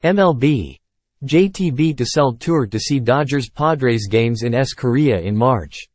MLB. JTB to sell tour to see Dodgers-Padres games in Korea in March.